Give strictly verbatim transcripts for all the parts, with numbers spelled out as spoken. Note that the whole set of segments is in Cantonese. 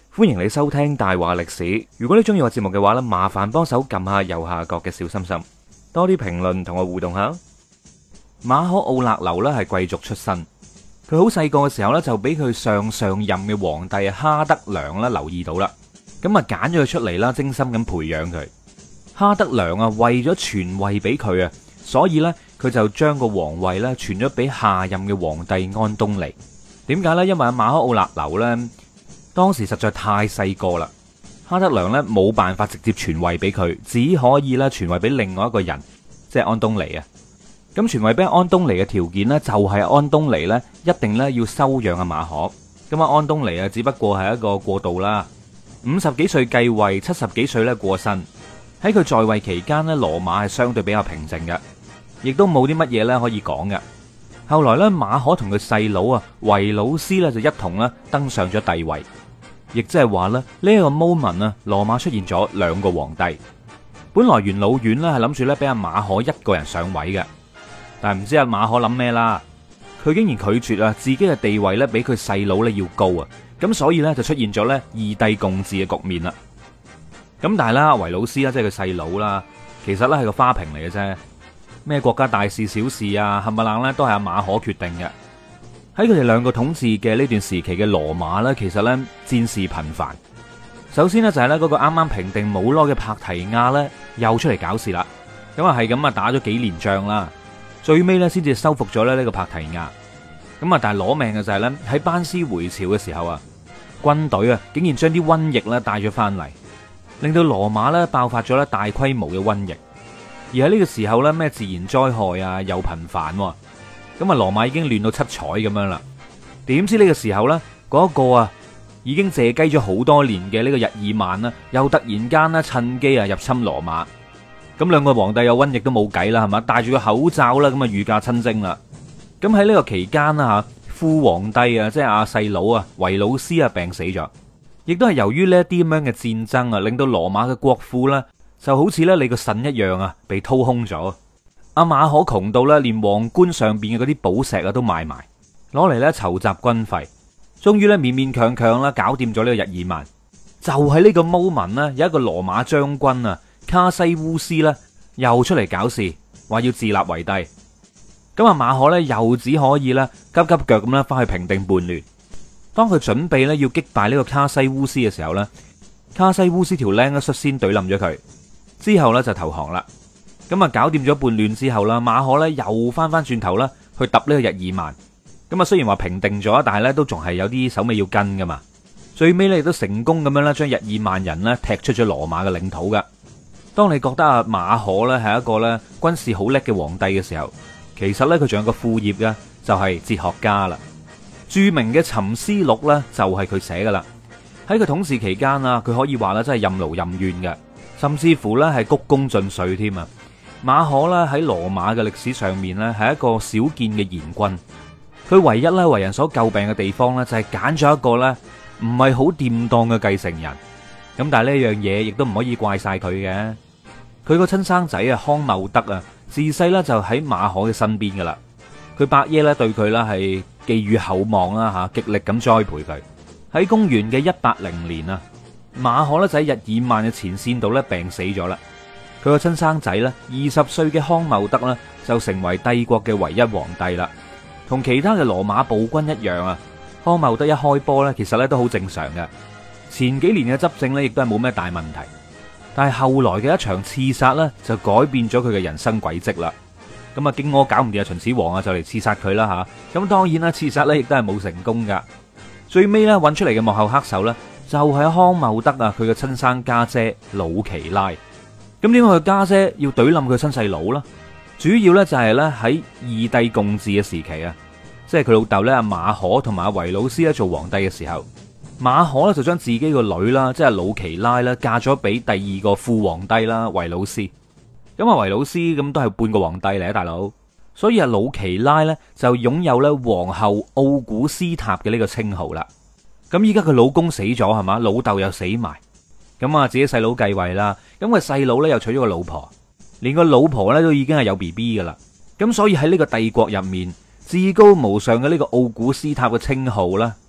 歡迎你收聽大話歷史。如果你中意我節目嘅話呢，麻煩幫手撳下右下角嘅小心心，多啲評論同我互動下。馬可奧勒留呢係貴族出身，佢好細個嘅時候呢，就俾佢上上任嘅皇帝哈德良啦留意到啦，咁啊揀咗佢出嚟啦，精心咁培養佢。哈德良啊為咗傳位俾佢啊，所以呢，佢就將個皇位呢傳咗俾下任嘅皇帝安東尼。點解呢？因為阿馬可奧勒留呢，當時實在太細個啦，哈德良呢冇辦法直接傳位俾佢，只可以咧傳位俾另外一個人，即係安東尼啊。咁傳位俾安東尼嘅條件呢，就係安東尼呢一定咧要收養阿馬可。咁啊，安東尼啊，只不過係一個過渡啦。五十幾歲繼位，七十幾歲咧過身。喺佢在位期間呢，羅馬係相對比較平靜嘅，亦都冇啲乜嘢咧可以講嘅。後來咧，馬可同佢細佬啊維魯斯咧就一同咧登上咗帝位。亦即係話咧，呢一個 moment 啊，羅馬出現咗兩個皇帝。本來元老院咧係諗住咧俾阿馬可一個人上位嘅，但係唔知阿馬可諗咩啦，佢竟然拒絕啊自己嘅地位咧比佢細佬咧要高啊，咁所以咧就出現咗咧二帝共治嘅局面啦。咁但係啦，維魯斯啦，即係佢細佬啦，其實咧係個花瓶嚟嘅啫，咩國家大事小事啊，冚唪唥咧都係阿馬可決定嘅。喺佢哋兩個統治嘅呢段時期嘅羅馬呢，其實呢戰事頻繁。首先呢，就係呢嗰個啱啱平定冇耐嘅帕提亞呢，又出嚟搞事啦。咁啊係咁啊打咗幾年仗啦，最尾呢先至收復咗咧呢個帕提亞。咁啊但係攞命嘅就係呢，喺班師回朝嘅時候啊，軍隊啊竟然將啲瘟疫呢帶咗翻嚟，令到羅馬呢爆發咗咧大規模嘅瘟疫。而喺呢個時候呢，咩自然災害啊又頻繁。咁啊，羅馬已經亂到七彩咁樣啦。點知呢個時候呢，嗰一個啊，已經借雞咗好多年嘅呢個日耳曼啦，又突然間呢趁機啊入侵羅馬。咁兩個皇帝有瘟疫都冇計啦，係嘛？戴住個口罩啦，咁啊御駕親征啦。咁喺呢個期間啦吓，副皇帝啊，即係阿細佬啊，維魯斯啊病死咗，亦都係由於呢一啲咁樣嘅戰爭啊，令到羅馬嘅國庫呢，就好似咧你個腎一樣啊，被掏空咗。阿馬可窮到咧，連皇冠上邊嘅嗰啲寶石啊都賣埋，攞嚟咧籌集軍費，終於咧勉勉強強啦搞掂咗呢個日耳曼。就喺呢個 moment 咧，有一個羅馬將軍啊卡西烏斯咧又出嚟搞事，話要自立為帝。咁阿馬可咧又只可以咧急急腳咁咧翻去平定叛亂。當佢準備咧要擊敗呢個卡西烏斯嘅時候咧，卡西烏斯條僆咧率先懟冧咗佢，之後咧就投降啦。咁啊，搞掂咗叛亂之後啦，馬可咧又翻翻轉頭啦，去揼呢個日耳曼。咁啊，雖然話平定咗，但係咧都仲係有啲手尾要跟噶嘛。最尾咧亦都成功咁樣咧，將日耳曼人咧踢出咗羅馬嘅領土噶。當你覺得阿馬可咧係一個咧軍事好叻嘅皇帝嘅時候，其實咧佢仲有個副業嘅，就係哲學家啦。著名嘅《沉思錄》咧就係佢寫噶啦。喺佢統治期間啊，佢可以話咧真係任勞任怨嘅，甚至乎咧係鞠躬盡瘁添啊。馬可咧喺羅馬嘅歷史上面咧係一個少見嘅賢君，佢唯一咧為人所詬病嘅地方咧就係揀咗一個咧唔係好掂當嘅繼承人。咁但係呢樣嘢亦都唔可以怪晒佢嘅，佢個親生仔啊康茂德啊自細咧就喺馬可嘅身邊噶啦，佢伯爺咧對佢咧係寄予厚望啦吓，極力咁栽培佢。喺公元嘅一八零年啊，馬可咧就喺日耳曼嘅前線度咧病死咗啦。佢個親生仔咧，二十歲嘅康茂德咧，就成為帝國嘅唯一皇帝啦。同其他嘅羅馬暴君一樣啊，康茂德一開波咧，其實咧都好正常嘅。前幾年嘅執政咧，亦都係冇咩大問題。但係後來嘅一場刺殺咧，就改變咗佢嘅人生軌跡啦。咁啊，荊軻搞唔掂啊，秦始皇啊，就嚟刺殺佢啦吓。咁當然啦，刺殺咧亦都係冇成功噶。最尾咧揾出嚟嘅幕後黑手咧，就係康茂德啊，佢嘅親生家姐魯奇拉。咁點解佢家姐要懟冧佢親細佬啦？主要咧就係咧喺二帝共治嘅時期啊，即係佢老豆咧阿馬可同埋阿維魯斯咧做皇帝嘅時候，馬可咧就將自己個女啦，即係魯奇拉啦，嫁咗俾第二個副皇帝啦維魯斯。咁啊維魯斯咁都係半個皇帝嚟啊，大佬。所以阿魯奇拉咧就擁有咧皇后奧古斯塔嘅呢個稱號啦。咁依家佢老公死咗係嘛，老豆又死埋。咁啊，自己細佬繼位啦，咁佢細佬咧又娶咗個老婆，連個老婆咧都已經係有 B B 噶啦。咁所以喺呢個帝國入面，至高無上嘅呢個奧古斯塔嘅稱號啦，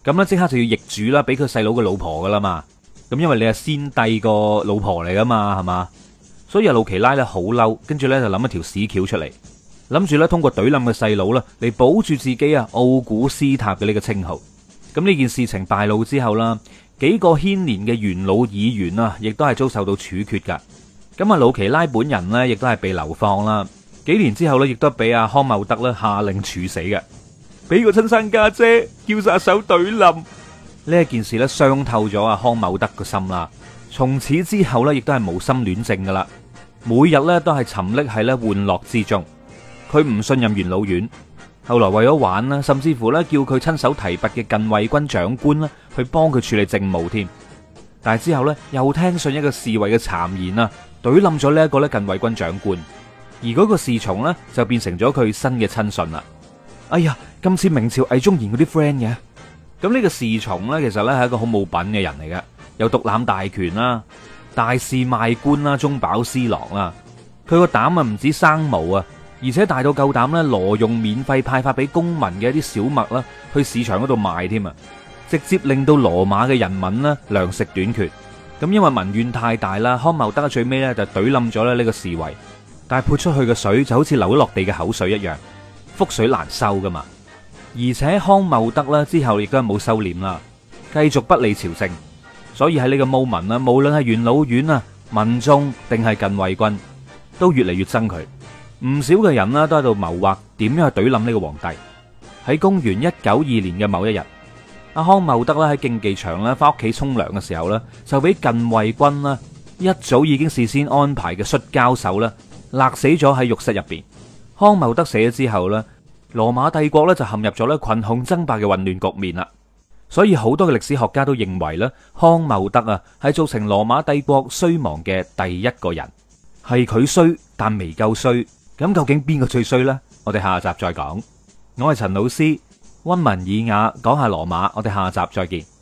咁呢即刻就要易主啦，俾佢細佬嘅老婆噶啦嘛。咁因為你係先帝個老婆嚟噶嘛，係嘛？所以阿魯奇拉咧好嬲，跟住咧就諗一條屎橋出嚟，諗住咧通過懟冧嘅細佬啦嚟保住自己啊奧古斯塔嘅呢個稱號。咁呢件事情敗露之後啦，幾個牽連嘅元老議員啊，亦都係遭受到處決噶。咁啊，魯奇拉本人呢，亦都係被流放啦。幾年之後呢，亦都俾阿康茂德咧下令處死嘅。俾個親生家姐叫殺手懟冧呢一件事咧，傷透咗阿康茂德個心啦。從此之後咧，亦都係無心戀政噶啦，每日咧都係沉溺喺咧玩樂之中。佢唔信任元老院，後來為咗玩啦，甚至乎咧叫佢親手提拔嘅近衛軍長官啦，去幫佢處理政務添。但係之後咧，又聽信一個侍衛嘅讒言啊，懟冧咗呢一個咧近衛軍長官，而嗰個侍從咧就變成咗佢新嘅親信啦。哎呀，今次明朝魏忠賢嗰啲 friend 嘅，咁呢個侍從呢，其實呢係一個好冇品嘅人嚟嘅，有獨攬大權啦，大肆賣官啦，中飽私囊啦。佢個膽啊唔止生毛啊，而且大到夠膽呢挪用免費派發俾公民嘅一啲小麥啦，去市場嗰度賣添啊，直接令到羅馬嘅人民呢糧食短缺。咁因為民怨太大啦，康茂德最尾呢就懟冧咗咧呢個侍衛，但係潑出去嘅水就好似流落地嘅口水一樣。覆水難收噶嘛，而且康茂德啦之後亦都係冇收斂啦，繼續不理朝政，所以喺呢個 moment 啦，無論係元老院啊、民眾定係近衛軍，都越嚟越憎佢。唔少嘅人啦都喺度謀劃點樣去懟冧呢個皇帝。喺公元一九二年嘅某一日，阿康茂德啦喺競技場啦翻屋企沖涼嘅時候啦，就俾近衛軍啦一早已經事先安排嘅摔跤手啦勒死咗喺浴室入邊。康茂德死咗之後咧，羅馬帝國咧就陷入咗咧群雄爭霸嘅混亂局面啦。所以好多嘅歷史學家都認為咧，康茂德啊係造成羅馬帝國衰亡嘅第一個人，係佢衰但未夠衰。咁究竟邊個最衰呢？我哋下集再講。我係陳老師，溫文爾雅講下羅馬，我哋下集再見。